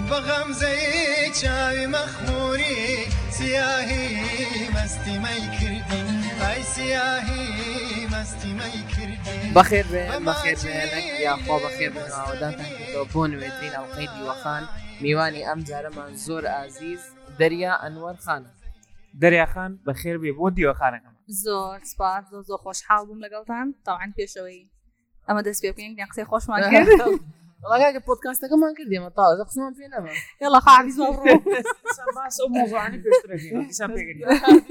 بغمزه چاوی مخموری سیاهی مستی می کردی ای سیاهی مستی می کردی بخير لك يا أخوة بخير من عوداتك توبون ويدرين القيد وخان ميواني أمزار منزور عزيز دريا أنور خان دريا خان بخير بيبودي وخانك زور سپاس زور خوش حال بوم لەگەڵتان طبعا پێشەوەی ئەمە دەست پێ بکەین قسەی خۆشمان کرد والله كاك بودكاستكم كردي ما طال قسمان فينا ما يلا خاعبيز مبروك بس موضوعني بيشتركين حساب بيجي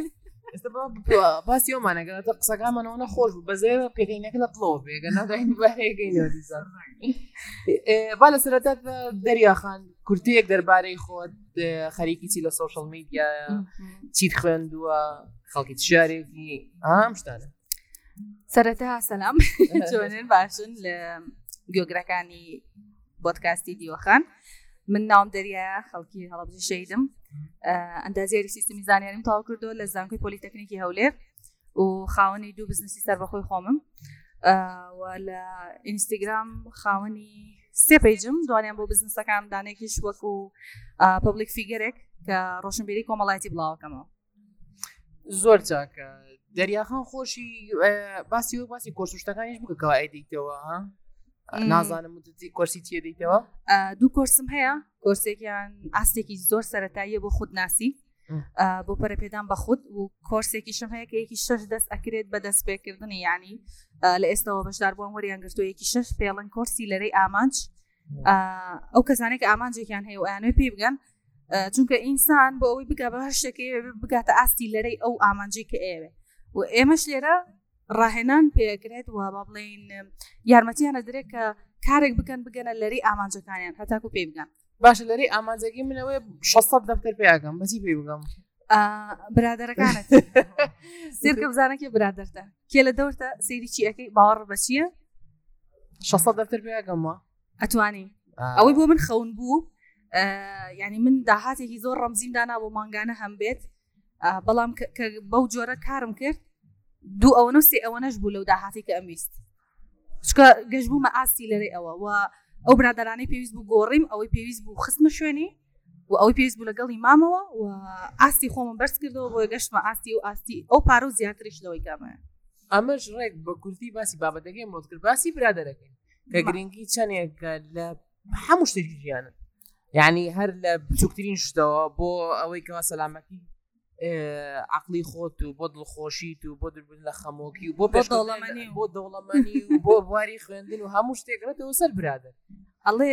بس يوم أنا قلت أقصى كمان وأنا خوش بزاف بيجينا كده طلوب قلنا دحين بهيجينا ديزار بالا سرتات دريا خان كرتيك درباري خود خريكي تي للسوشيال ميديا تيت خندوا خلقي تشاركي مشتانا سرتها سلام جوانين باشن لجيوغراكاني بودكاستي ديوخان من نام دريا خلقي هلا بجي شيدم اندازيري سيستمي زانياري متاو كردو لزانكوي بوليتكنيكي هولير وخاوني دو بزنسي سر بخوي خومم ولا انستغرام خاوني سي بيجم دوانيان بو بزنسا كان دانيكيش وكو بابليك فيجرك كروشن بيري كومالايتي بلاو كما زور تاك دريا خان خوشي باسی کورسوشتەکانیش بکە کەوا ئەیدیتەوە ها نازانم مدتی کورسی چیە دیتەوە دوو کورسم هەیە کورسێکیان ئاستێکی زۆر سەرەتاییە بۆ خودناسی بۆ پەرەپێدان بە خود و کورسێکیشم هەیە کە یەکی 6 دەست ئەکرێت بە دەستپێکردنی یعنی لە ئێستاەوە بەشدار بووم وەریان گرتووە یەکی 6 پێڵەن کورسی لەرەی ئامانج ئەو کەسانێک کە ئامانجێکیان هەیە و ئەیانوێ پێی بگەن چونکە ئینسان بۆ ئەوەی بگا بە هەر شتێکی بگاتە ئاستی لەرەی ئەو ئامانجی کە ئێوێ و ئێمەش لێرە ڕاهێنان پێکرێت و با بڵێن یارمەتیانە درێت کە کارێک بکەن بگەنە لەرەی ئامانجەکانیان هەتاکو پێی بگەن باشە لەرەی ئامانجەکەی منەوەی 600 دەفتەر پێیاکەم بەچی پێی بگەم برادەرەکانت سیرکە بزانەکێ برادەرتە کێ لە دەورتە سەیری چی ئەەکەی باوەڕ بە چییە 600 دەفتەر پێیاکەمەوە ئەتوانی ئەوەی بۆ من خەون بوو یعنی من داهاتێکی زۆر ڕەمزیم دانا بۆ مانگانە هەم بێت بەڵام کە بەو جۆرە کارم کرد دوو ئەوەنە سێ ئەوەنەش بوو لەو داهاتی کە ئەمویست چکە گەشت بوومە ئاستی لەرەی ئەوە و ئەو برادرانەی پێویست بوو گۆڕیم ئەوەی پێویست بوو خستمە شوێنی و ئەوەی پێویست بوو لەگەڵی مامەوە و ئاستی خۆمە بەرز کردەوە بۆ گەشتمە ئاستی و ئاستی ئەو پارە و زیاتریش لەوەی کامەیە ئەمەش ڕێک بە کورتی باسی بابەتەکەی مۆت کرد باسی برادەرەکەین کە گرنگی چەندێکە لە هەموو شتێکی ژیانن یعنی هەر لە بچووکترین شتەوە بۆ ئەوەی کەوا سەلامەتی عقلی خۆت و بۆ دڵخۆشیت و بۆ دربوون لە خەمۆکی و بۆ دەوڵەمەنی و بۆ بواری خوێندن و هەموو شتێکڕێتەوە سەر برادر ئەڵێ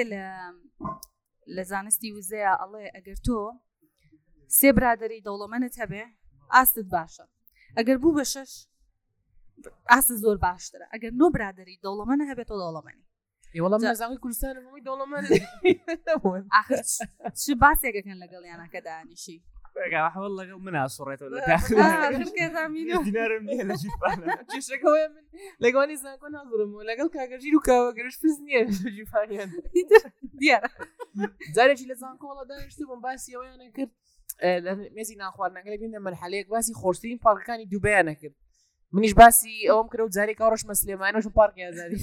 لە زانستی وزەیە ئەڵێ ئەگەر تۆ سێ برادری دەوڵەمەنت هەبێ ئاستت باشە ئەگەر بوو بە 6 ئاست زۆر باشترە ئەگەر نۆ برادری دەوڵەمەنە هەبێت تۆ دەوڵەمەنی وەڵام نەزانەی کوردستان هەمووی دەوڵەمەن آخر چ باسێکەکەن لەگەڵیانە کە دانیشی حاول لقى منها صورته ولا داخل كذا مينو دينار مني لا جيبانا شكوى من لقوني ساكون هضرم ولا قال كاجيرو كاجرش فزني جيباني ديار زاري لازم كولا دانشتو باسي وانا كنت مزي ناخوارنا قال بينا مرحله باسي خورسين باركاني دبي انا كنت منيش باسي اوم كرو زاري كورش مسلمان وش بارك يا زاري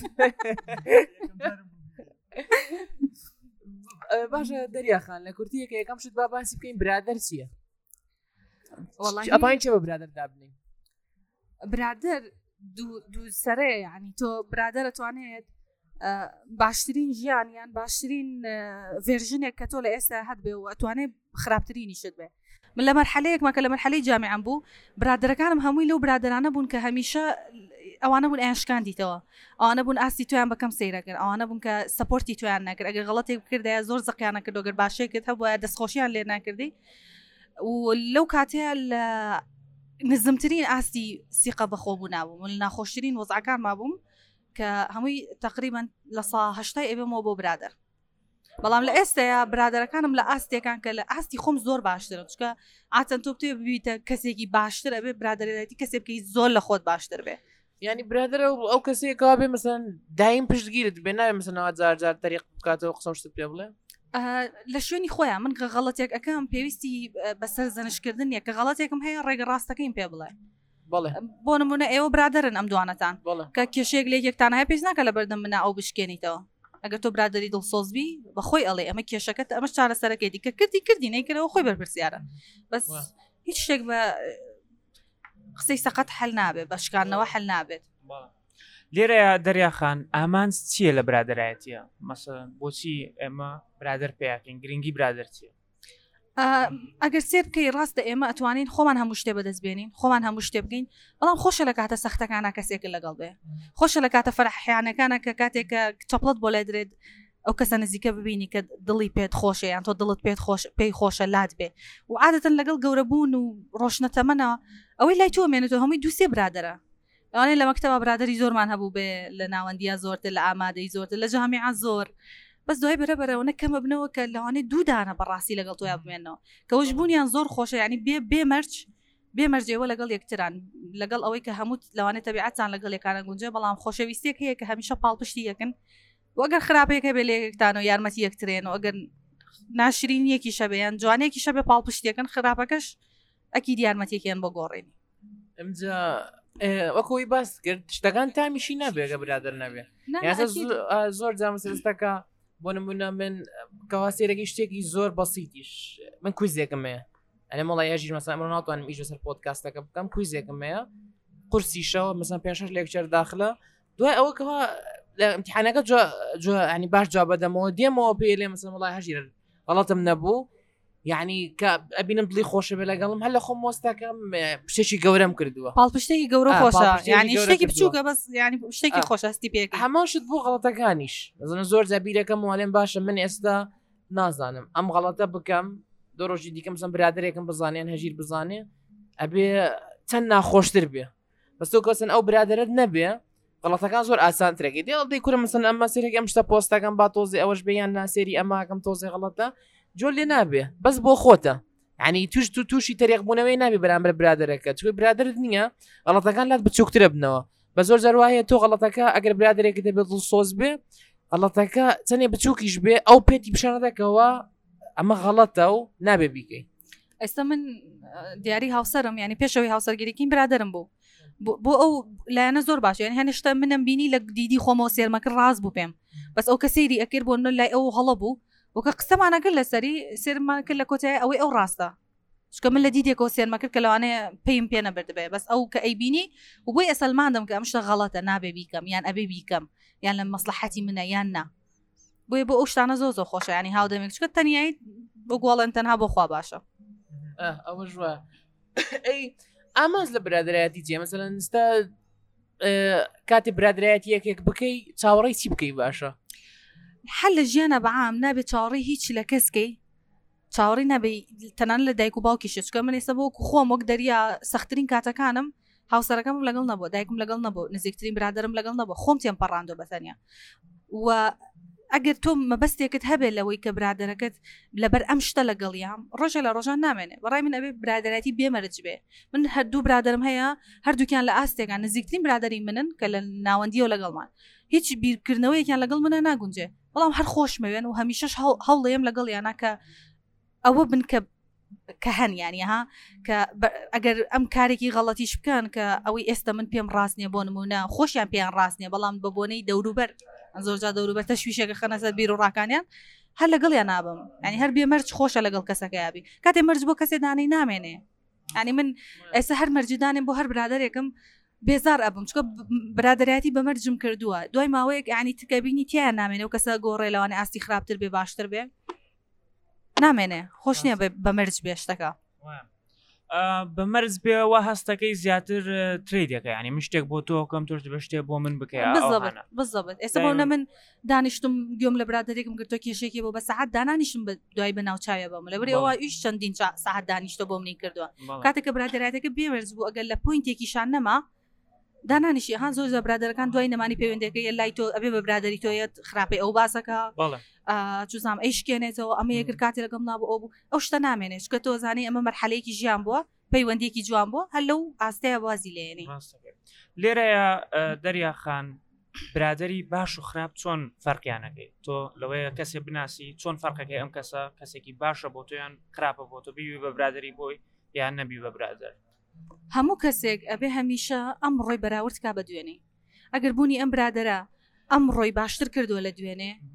باشا دريا خان لكورتيه كي كم شد باباسي بكين برادر سيا والله أباين شو برادر دابني برادر دو سره يعني تو برادر توانيت باشترين جيان يعني باشترين فيرجينيا كاتولا إسا هاد بي وأتواني خرابترين يشد بي من لمرحلة ما كان لمرحلة جامعة بو برادر كانم هموي لو برادر أنا بون كهميشة أو أنا بون إيش كان دي توا أو أنا بون أستي توان بكم سيرة كر أو أنا بون كسبورتي توان نكر أجر غلطي بكر ده زور زقي أنا كده أجر باشة كده هو دسخوشي عن لنا كردي ولو كاتها نظمترين أستي ثقة بخوبنا ومن خوشترين وضع كان ما بوم كهموي تقريبا لصا هشتاي أبي مو بو برادر بەڵام لە ئێستا برادەرەکانم لە ئاستێکان کە لە ئاستی خۆم زۆر باشترە چکە ئاچەند تۆ بتێ ببیتە کەسێکی باشترە بێ برادەرێتی کەسێ بکەی زۆر لە خۆت باشتر بێ یعنی برادرە ئەو کەسێکەوە بێ مەسەن دایم پشتگیرت بێ ناوێ مەسەنەوە جار تەریق بکاتەوە قسەم شتت پێ بڵێ لە شوێنی خۆیان من کە غەڵەتێک ئەەکەم پێویستی بەسەر زەنشکردن نیە کە غەڵەتێکم هەیە ڕێگە ڕاستەکەیم پێ بڵێ بۆ نمونە ئێوە برادرن ئەم دوانەتان کە کێشەیەک لێکێکتان هەیە پێش ناکە لە بەردەم منە ئەو بشکێنیتەوە ئەگەر تۆ برادری دڵسۆزبی بەخۆی ئەڵێ ئەمە کێشەکەت ئەمە چارەسەرەکەی دیکە کردی نەیکردەوە خۆی بەرپرسیارە بەس هیچ شتێک بە قسەی سەقەت حەل نابێت بە شکاندنەوە حەل نابێت. لێرە دەریاخان ئامانج چییە لە برادایەتیە مەسەڵەن بۆچی ئێمە برادر پێیاکەین گرنگی برادر چیە؟ ئەگەر سێر بکەی ڕاستە ئێمە ئەتوانین خۆمان هەموو شتێ بەدەستبێنین خۆمان هەموو شتێ بگەین بەڵام خۆشە لە کاتە سەختەکانە کەسێک لەگەڵ بێ خۆشە لە کاتە فەرحیانەکانە کە کاتێکە چەپڵەت بۆ لای درێت ئەو کەسە نزیکە ببینی کە دڵی پێت خۆشە یان تۆ دڵت پێی خۆشە لات بێ و عادەتەن لەگەڵ گەورەبوون و ڕۆشنەتەمەنە ئەوەی لای تۆ مێنێتەوە هەمووی دووسێ برادرە ئەوانەی لە مەکتەبە برادری زۆرمان هەبوو بێ لە ناوەندیە زۆرتر لە ئامادەی زۆرتر لە جامیعە زۆر بەس دوای بەرەبەرەوە نەکەمە بنەوە کە لەوانەیە دوودانە بەڕاستی لەگەڵ تۆیا بمێنەوە کەەوەش بوونیان زۆر خۆشە ینی بێمەرجێوە لەگەڵ یەکتران لەگەڵ ئەوەی کە هەموو لەوانێت تەبیعەتان لەگەڵ یەکانە گونجێ بەڵام خۆشەویستێک هەیە کە هەمیشە پاڵپشتی یەکن وەگەر خراپەیەکە بێ لە یەکتان و یارمەتی یەکترێن و ئەگەر ناشرین یەکی شەبیان جوانێکی شەبێ پاڵپشتیەکەن خراپەکەش ئەکی دیارمەتێکیان بۆ گۆڕێنی ئەمجا وەکەوەی باس کرد شتەکان تامیشی نابێگە برادر نەبێ زۆر جامەسەستەکە بۆ نمونە من کەواسێرەی شتێکی زۆر بەسیتیش من کویزێکمەیە ئەلێ مەڵی یاژیر مەسا ئەمە ناتوانم ئیش بەسەر پۆدکاستەکە بکەم کویزێکمەیە قورسیشەوە مەسەن 5 لێکچەر داخلە دوای ئەوە کەوا لە ئیمتیحانەکە ینی باش جواب بدەمەوە دێمەوە پێ لێ مەسەن وڵای هەژیر غەڵەتم نەبوو یعنی کە ئەبینم دڵی خۆشە بێ لەگەڵم هەر لە خۆم مۆستەکەم شتێکی گەورەم کردووە پاڵپشتێکی گەورە خۆشە ینی شتێکی بچووکە بەس ینی شتێکی خۆشەستی پێک هەماشت بوو غەڵەتەکانیش بزنە زۆر زەبیرەکەم وڵێن باشە من ئێستا نازانم ئەم غەڵەتە بکەم دو ڕۆژی دیکەم سم برادرێکم بزانێن هەژیر بزانێ ئەبێ چەند ناخۆشتر بێ بەس تۆ کەسن ئەو برادرت نەبێ غەڵەتەکان زۆر ئاسانترێکی دێڵ کورە مەسن ئەمە سێرێک ئەم شتە پۆستەکەم با تۆزی ئەوەش بیان ناسێری ئەماکەم تۆزی غەڵەتە جۆر لێ نابێ بەس بۆ خۆتە ینی تووشی تەریقبوونەوەی نابێ بەرامبەر برادرەکە توی برادرت نییە غەڵەتەکان لات بچووکترە بنەوە بە زۆر جەروایە تۆ غەڵەتەکە ئەگەر برادرێکی دەبێت دڵسۆز بێ غەڵەتەکە چەندێ بچووکیش بێ ئەو پێتی پیشانەدەکەوە ئەمە غەڵەتە و نابێ بیکەی ئێستا من دیاری هاوسەرم ینی پێشەوەی هاوسەرگیریکیم برادرم بوو بۆ ئەو لایەنە زۆر باش یعنی هەنیشتە منم بینی لە دیدی خۆمەوە سێرمەکە ڕاست بوو پێم بەس ئەو کە سەیری ئەکرد بۆ لای ئەو هەڵە بوو وەکە قسەمانەکرد لەسەری سێرمان کرد لە کۆتای ئەوەی ئەو ڕاستە چکە من لە دیدێکەوە سێرمە کرد کە لەوانەیە پێیم پێ نەبردبێ بەس ئەو کە ئەیبینی و بۆی ئەسەلماندم کە ئەم شتە غەڵەتە نابێ بیکەم یان ئەبێ بیکەم یان لە مەسلحەتی منە یان نا بۆیە بۆ ئەو شتانە زۆر زۆر خۆشە ینی هاودەمێک چکە تەنیایی بۆ گوڵێن تەنها بۆ خوا باشە ئەوە ژوە ئەی ئاماز لە برادرایەتی جێ مەسەلەن ئێستا کاتی برادرایەتی یەکێک بکەی چاوەڕێی چی بکەی باشە حل لە ژیانە بەعام نابێت چاوەڕێی هیچ لە کەسکەی چاوەڕی نەبێ تەنان لە دایک و باوکیشە چکە من ئێستا بۆ خۆم وەک دەریا سەختترین کاتەکانم هاوسەرەکەم لەگەڵ نەبوو دایکم لەگەڵ نەبوو نزیکترین برادرم لەگەڵ نەبوو خۆم تێم پەڕاندۆ بەتەنیا و ئەگەر تۆ مەبەستێکت هەبێت لەوەی کە برادرەکەت لەبەر ئەم شتە لەگەڵیام ڕۆژە لە ڕۆژان نامێنێ بەڕای من ئەبێ برادراتی بێمەرج بێ من هەردوو برادرم هەیە هەردووکیان لە ئاستێکان نزیکترین برادری منن کە لە ناوەندیەوە لەگەڵمان هیچ بیرکردنەوەیەکیان لەگەڵ منە ناگونجێ بەڵام هەر خۆشمەوێن و هەمیشەش هەوڵێم لەگەڵ یانە کە ئەوە بن کە هەن یانی ها کە ئەگەر ئەم کارێکی غەڵەتیش بکەن کە ئەوەی ئێستا من پێم ڕاست نییە بۆ نمونە خۆشیان پێیان ڕاست نییە بەڵام بە بۆنەی دەوروبەر زۆرجا دەوروبەر تەشویشێکە خەنەسەر بیر و ڕاکانیان هەر لەگەڵیان نابم ینی هەر بێمەرج خۆشە لەگەڵ کەسەکە یابی کاتێ مەرج بۆ کەسێ دانەی نامێنێ ینی من ئێستا هەر مەرجدانێن بۆ هەر برادرێکم بێزار ئەبم چکە برادایەتی بەمەرجم کردووە دوای ماوەیەک ینی تکەبینی تیان نامێنێ و کەسە گۆڕێ لەوانێ ئاستی خراپتر بێ باشتر بێ نامێنێ خۆش نییە بەمەرج بێشتەکە بەمەرز بێەوە هەستەکەی زیاتر تریدەکە ینی من شتێک بۆ تۆکەم تۆش بە شتێک بۆ من بکەیە بزەبێت ئێستا بۆ من دانیشتم گوێم لە برادێکم گرتۆ کێشێکی بۆ بە سەعات دانانیشم بە دوای بە ناوچاوە بەم لەبەر ئەوە ئیش چەندین سەعات دانیشتە بۆ منی کردووە کاتێککە برادایەتەکە بێمەرز بوو ئەگەر لە پوینتێکیشان نەما دانانیشی هەان زۆر زە برادەکان دوای نەمانی پەیوەندەکەی لای تۆ ئەبێ بە برادری تۆیەت خراپی ئەو باسەکە چوزام ئەیشکێنێتەوە ئەمە یەگر کاتی لەگەڵ نابوو ئەو بوو ئەو شتە نامێنێت کە تۆ زانانی ئەمە مەرحەلەیەکی ژیان بووە پەیوەندێکی جوان بووە هەر لەو ئاستەیە وازی لێنی لێرەیە دەریاخان برادری باش و خراپ چۆن فەرقیانەکەی تۆ لەوەیە کەسێ بناسی چۆن فەرقەکەی ئەم کەسە کەسێکی باشە بۆ تۆیان خراپە بۆ تۆ بیوی بە برادری بۆی یان نەبی بە برادر هەموو کەسێک ئەبێ هەمیشە ئەم ڕۆی بەراورد کا بە دوێنێ ئەگەر بوونی ئەم برادرە ئەم ڕۆی باشتر کردووە لە دوێنێ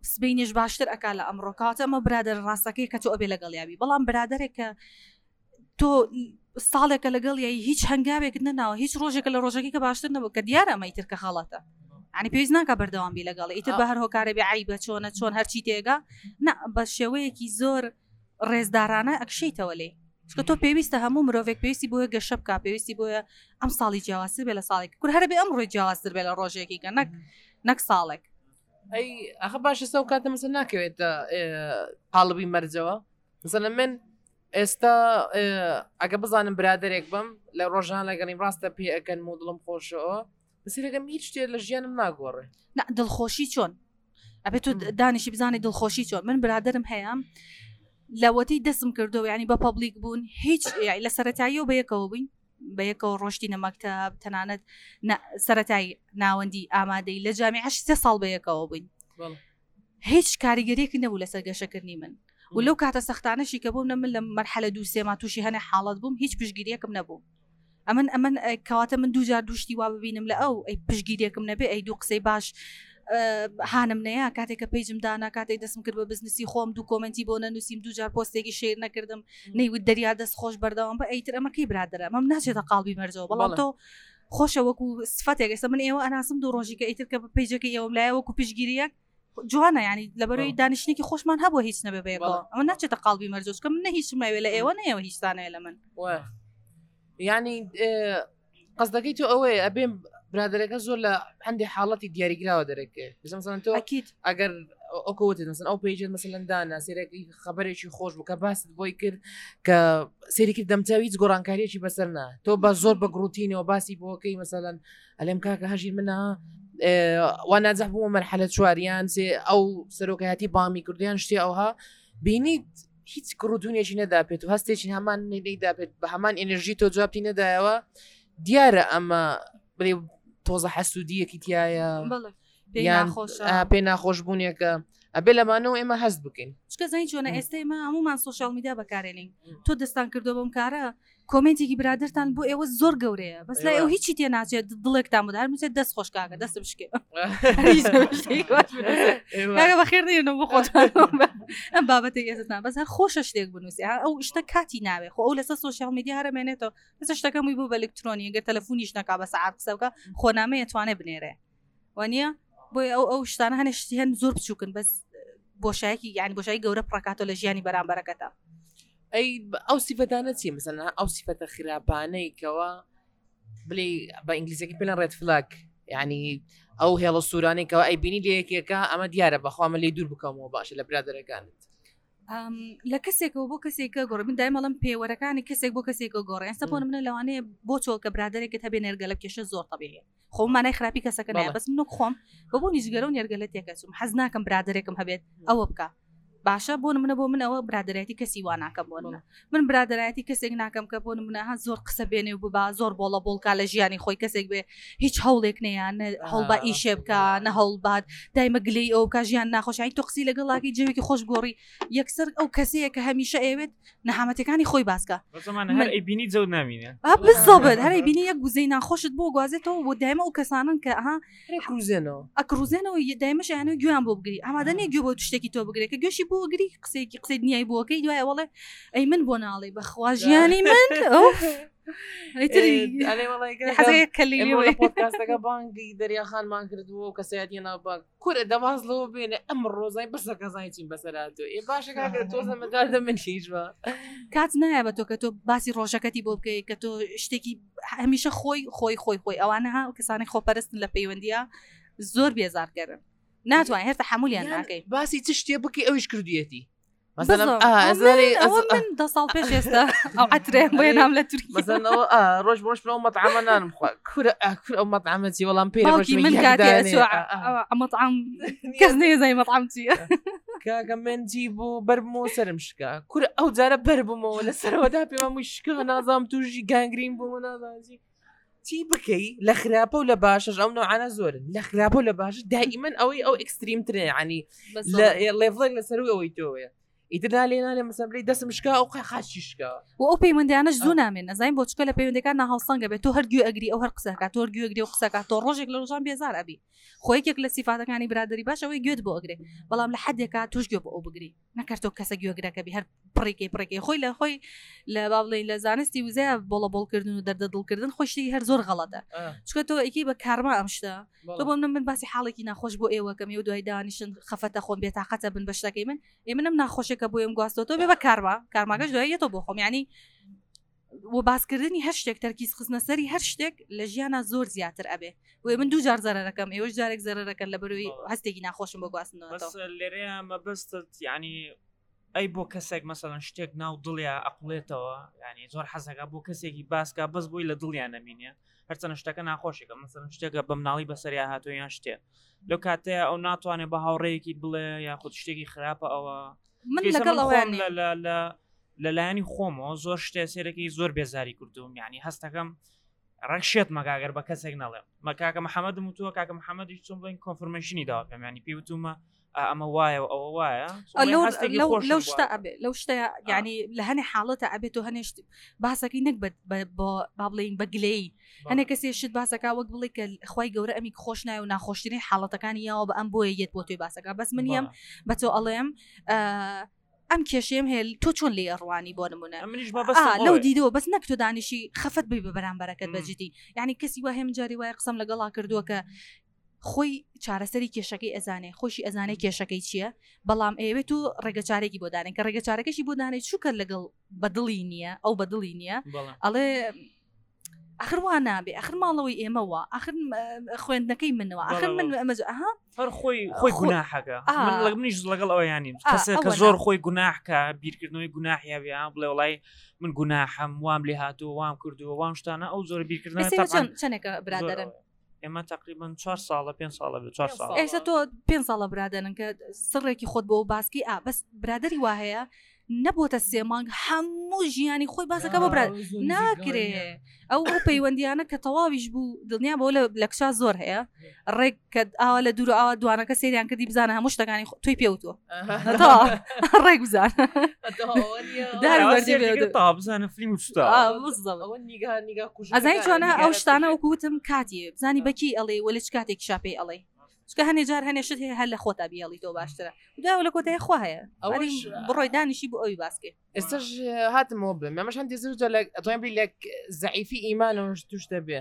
سبینیش باشتر ئەکا لە ئەمڕۆکاتە ئەمە برادر ڕاستەکەی کە تۆ ئەبێ لەگەڵیابی بەڵام برادێکە تۆ ساڵێکە لەگەڵ یای هیچ هەنگاوێک نەناوە هیچ ڕۆژێکە لە ڕۆژەکەی کە باشتر نەبوو کە دیارە ئەمە ئیتر کە خەڵەتە عنی پێویست ناکە بەردەوامبی لەگەڵ ئیتر بە هەر هۆکارە بێ عیبە چۆن هەرچی تێگا نا بە شێوەیەکی زۆر ڕێزدارانە ئەکشەیتەوە لێ چکە تۆ پێویستە هەموو مرۆڤێک پێویستی بۆیە گەشە بکە پێویستی بۆیە ئەم ساڵی جیاوازتر بێ لە ساڵێک کور هەرە بێ ئەم ڕۆی جیاوازتر بێ لە ڕۆژێکی کە نەک ساڵێک ئەی ئەخە باشە سەو کاتە مەسەر ناکەوێتە قاڵبی مەرجەوە مثلا من ئێستا ئەگە بزانم برادێک بم لە ڕۆژان لەگەڵیم ڕاستە پێ ئەەکەن و دڵم خۆشەوە بەسیرەکەم هیچ شتێ لە ژیانم ناگۆڕێ دڵخۆشی چۆن ئەبێت تو دانیشی بزانانی دڵخۆشی چۆن من برادرم هەیە لەوەتی دەسم کردەوە ینی بە پەبلیک بوون هیچ لە سەرەتاییەوە بەیەکەوە بووین بەیەکەوە ڕۆشتی نەمەکتەب تەنانەت سەرەتایی ناوەندی ئامادەی لە جامیعە 3 ساڵ بەیەکەوە بووین هیچ کاریگەریەکی نەبوو لەسەر گەشەکردنی من و لەو کاتە سەختانەشی کە بووم من لە مەرحەلە 2 سێما تووشی هەنێ حاڵەت بووم هیچ پشگیریەکم نەبوو ئەمن کەواتە من دووجار دوشتی وا ببینم لە ئەو ئەی پشگیریەکم نەبێ ئەی دوو قسەی باش هانم نەیە کاتێککە پێیجم دانا کاتێک دەستم کرد بە بزنسی خۆم دوو کۆمنتی بۆ نەنووسیم دووجار پۆستێکی شێر نەکردم نەیوت دەریا دەست خۆش بەردەوام بە ئەیتر ئەمەکەی برادرە ئەمەم ناچێتە قاڵبی مەرجەوە بەڵام تۆ خۆشە وەکو سفەتێک ئێستا من ئێوە ئەناسم دوو ڕۆژی کە ئیتر کە پێیجەکە ئێوەم لایە وەکو پشگیریەک جوانە ینی لەبەرەوەی دانیشتێکی خۆشمان هەبووە هیچ نەبێ بەیەکەوە ئەمە ناچێتە قاڵبی مەرجەوە کە من نە هیچ ماوێ لە ئێوە نەیەوە هیچتانەیە لە من ینی قەزدەکەی تۆ ئەوەیە ئەبێم برادەرەکە زۆر لە هەندێک حاڵەتی دیاریگراوە دەرەکە مثلا تۆ ئەگەر ئۆکەوتت مثلا ئەو پێیجت مثلا دانا سێرەی خەبەرێکی خۆش بوو کە باست بۆی کرد کە سێری کرد دەمچاوی هیچ گۆڕانکاریەکی بەسەر نا تۆ بە زۆر بە گروتینەوە باسی بۆکەی مثلا ئەلێم کاکە هەژیر منە وا ناجەح بوومە مەرحەلە چواریان سێ ئەو سەرۆکایەتی بامی کردیان شتێ ئەوها بینیت هیچ گڕوتونێکی نەداپێت و هەستێکی هەمان نەیداپێت بە هەمان ئێنەرژی تۆ جوابتی نەدایەوە دیارە ئەمە بڵێ تۆزە حەسوودیەکی تایە پێ ناخۆش بوونیەکە ئەبێ لەمانەوە ئێمە هەست بکەین چکە زانی چۆنە ئێستا ئێمە هەمومان سوۆشیال میدیا بەکارێنین تۆ دەستان کردو بەم کارە کۆمنتێکی برادرتان بۆ ئێوە زۆر گەورەیە بەس لای ئەو هیچی تێ ناچێت دڵێکتان بدا هەرموچێت دەست خۆشکاکە دەست بشکێ بەخێر نێنەوە بۆ خۆتان ئەم بابەتێک ئێستان بەس هەر خۆشە شتێک بنووسی ئەو شتە کاتی ناوێ خۆ ئەو لەسەر سوۆشیال میدیا هەرمێنێتەوە لەسە شتەکەمی بوو بە ئەلکترۆنی ئەگەر تەلەفۆنیش نەکا بە سەعات قسە بکە خۆنامەیە توانێ بنێرێ وانە بۆی ئەو شتانە هەنێشتی هەن زۆر بچووکن بەس بۆشایەکی یعنی بۆشایی گەورە پڕکاتەوە لە ژیانی بەرامبەرەکەتە ئەی ئەو سیفەتانە چی مثلا ئەو سیفەتە خراپانەی کەوە بڵێ بە ئینگلیزیەکی پێڵەن ڕێد فلاگ یعنی ئەو هێڵە سوورانێکەوە ئەی بینی لە یەکێکە ئەمە دیارە بەخوامە لێ دوور بکەمەوە باشە لە برادەرەکانت لە کەسێکەوە بۆ کەسێکە گۆڕ من دایمەڵم پێوەرەکانی کەسێک بۆ کەسێکە گۆڕێ ئێستا بۆ منە لەوانەیە بۆ چۆ کە برادێکت هەبێ نێرگەلە کێشە زۆر تەبیعیە خۆم مانای خراپی کەسەکە نایە بەس منۆ خۆم بۆ نیزگەرە و نێرگەلە تێکەچوم حەز ناکەم برادێکم هەبێت ئەوە بکە باشە بۆ منە بۆ من ئەوە برادایەتی کەسی وا ناکەم بۆ من برادایەتی کەسێک ناکەم کە بۆ منە زۆر قسە بێنێ و ببا زۆر بۆڵە بۆڵکا لە ژیانی خۆی کەسێک بێ هیچ هەوڵێک نەیان هەڵبا ئیشێ بکە نە هەڵبات دایمە گلەی ئەو کا ژیان ناخۆشایی تۆ قسی لەگەڵاکی جەوێکی خۆش گۆڕی یەکسەر ئەو کەسەیە کە هەمیشە ئەوێت نەحامەتەکانی خۆی باسکە بینی جەوت نامینە بزۆبت هەرەی بینی یەک گوزەی ناخۆشت بۆ گوازێتەوە بۆ دایمە ئەو کەسانن کە ئەکروزێنەوە دایمەش یانە گویان بۆ بگری ئامادەنێ گوێ بۆ شتێکی تۆ بگرێت کە گوێشی بۆ گری قسەیەکی قسەی دنیای بۆکەی دوایە وڵێ ئەی من بۆ ناڵێ بەخوا ژیانی من پۆدکاستەکە بانگی دەریاخانمان کردووە و کەسەتی ناوبانگ کورە دەواازلەوە بێنێ ئەم ڕۆزای بەسەکە زانیتیم بەسەراتۆ ئێ باشەکە تۆزەمەدادە من هیچ بە کات نایە بە تۆ کە تۆ باسی ڕۆژەکەتی بۆ بکەی کە تۆ شتێکی هەمیشە خۆی ئەوانە ها کەسانی خۆپەرستن لە پەیوەندیە زۆر بێزارکەرن ناتوانێت هێرتا حمولیان ناکەی باسی چ شتێ بکەی ئەویش کردوێتی من 10 ساڵ پێش ئێستا ئەو عترێ بۆیە نام لە تورکی ڕۆژ ڕۆژ ئەو مەطعامە نانم خوا کورە ئەو مەطعامەتی وەڵام پێ من مەطعام کەس نێزای مەطعام چییە کاکە منجی بوو بەرمەوە سرم شکا کورە ئەو جارە بەربمەوە لە سەرەوەدا پێمە مووی شکە نازام توژی گانگرین بوو نازانجی چی بکەی لە خراپە و لە باشش ئەو نوعانە زۆرن لە خراپە و لە باش دائیمەن ئەوەی ئەو ئەکستریمترێ عنی لێڤڵێک لەسەروی ئەوەی تۆیە ئیتردا لێنانێ مەسەن بڵێ دەستم شکا ئەو خاچیشکا و ئەو پەیوەندیانەش زوو نامێن نەزانین بۆ چکە لە پەیوەندەکان ناهاوسەنگە بێت تۆ هەرگوێ ئەگری ئەو هەر قسەکات تۆ هەرگوێ ئەگری و قسەکات تۆ ڕۆژێک لە ڕۆژان بێزار ئەبی خۆیەکێک لە سیفاتەکانی برادری باش ئەوەی گوێت بۆ ئەگرێ بەڵام لە حدێکا توش گوێ بۆ ئەو بگری نەکردۆ کەسە گوێگرەکەبی هەر پڕێکی خۆی لە خۆی لە باڵێن لە زانستی وزە بۆڵە بۆڵکردن و دەردە دڵکردن خۆشتی هەر زۆر غەڵەتە چکە تۆ ئەیکی بە کارما ئەم شتە تۆ بۆ من باسی حاڵێکی ناخۆش بۆ ئێوەکەمی و دوای دانیشن خەفەتە خۆم بێتاقەتە بن بە شتەکەی من منم ناخۆشێکە بۆ ئێم گواستەوە تۆ بێ بە کارماگەش دوایەتەوە بۆ خۆم ینی و باسکردنی هەر شتێک تەرکیز خستنە سەری هەر شتێک لە ژیانە زۆر زیاتر ئەبێ و من دوو جار زەرەکەم ئێوەش جارێک زەرەکەن لە بەروی هەستێکی ناخۆشم بۆ گواستنەوە لێرەیە مەبەستت ینی ئەی بۆ کەسێک مەسەڵەن شتێک ناو دڵیا ئەقلێتەوە ینی زۆر حەزەکە بۆ کەسێکی باسکە بەس بۆی لە دڵیان نەبینێ هەرچەنە شتەکە ناخۆشێکە مەسەڵەن شتێکە بە مناڵی بەسەریا هاتوویان شتێ لەو کاتەیە ئەو ناتوانێت بە هاوڕێیەکی بڵێ یاخود شتێکی خراپە ئەوە من لەگەڵ ئەوان لەلایانی خۆمەوە زۆر شتێ سێرەکەی زۆر بێزاری کردوم ینی هەستەکەم ڕەکشێت مەگاگەر بە کەسێک نەڵێم مە کاکە محەممەدم وتووە کاکە محەممەدی چۆن بڵین کۆنفرمێشنی داوا پێم ینی پێی وتومە ئەمە وایە و ئەوە وایە لەو شتە ئەبێ لەو شتە ینی لە هەنێ حاڵەتە ئەبێت و هەنێشت باسەکەی نەک با بڵین بەگلەی هەنێک کەسێ شت باسەکە وەک بڵێ کە خی گەورە ئەمی خۆش نای و ناخۆشترین حاڵەتەکانی یاوە بە ئەم بۆیە یەت بۆ توی باسەکە بەس منیم بە تۆ ئەڵێم ئەم کێشێم هێل تۆ چۆن لێ ڕوانی بۆ نمونە لەو دیدەوە بەس نەک تۆ دانیشی خەفەت بی بە بەرامبەرەکەت بەجددی یعنی کەسی وە هێم جاری وایە قسەم لەگەڵا کردووە کە خۆی چارەسەری کێشەکەی ئەزانێ خۆشی ئەزانەی کێشەکەی چییە بەڵام ئێوێت و ڕێگەچارێکی بۆ دانێن کە ڕێگەچارەکەشی بۆ دانێت چووکە لەگەڵ بەدڵی نییە ئەو بەدڵی نییە ئەڵێ ئەخروان نابێ ئەخر ماڵەوەی ئێمەوە ئەخر خوێندنەکەی منەوە ئەخر من ئەمەها هەر خۆی گوناحەکە منیش لەگەڵ ئەوە ینیم کە زۆر خۆی گوناحکە بیرکردنەوەی گوناحیا بیان بڵێ وڵای من گوناحم وام لێ هاتووە وام کردووە وام شتانە ئەو زۆر بیرکردن چەندێکە برادرن ئێمە تقریبان 4 ساڵە 5 ساڵە 4 ساڵ ئێستا تۆ 5 ساڵە برادرن کە سڕێکی خۆت بۆ باسکی بەس برادری وا هەیە نەبووتە 3 مانگ هەموو ژیانی خۆی باسەکە بۆ براد ناکرێ ئەو پەیوەندیانە کە تەواویش بوو دڵنیا بۆ لە کشا زۆر هەیە ڕێک کە ئاوا لە دوور ئاوا دوانەکە سریان کردی بزانە هەموو شتەکانی توی پێوتوە ڕێک بزان بزانە فیلم ئەزای چۆنە ئەو شتانە وەکوتم کاتی بزانی بەکی ئەڵێ وە لە چ کاتێک شاپی ئەڵێ چکە هەنێ جار هەنێشت هەیە هەر لە خۆتا بیاڵی تۆ باشترە دوای لە کۆتای خوا هەیە بڕۆی دانیشی بۆ ئەوی باسکێ ئێستاش هاتمەوە بڵێم ئەمەش هەندێک زۆر ئەتوانین بڵێ لە زەعیفی ئیمانەوەش توش دەبێ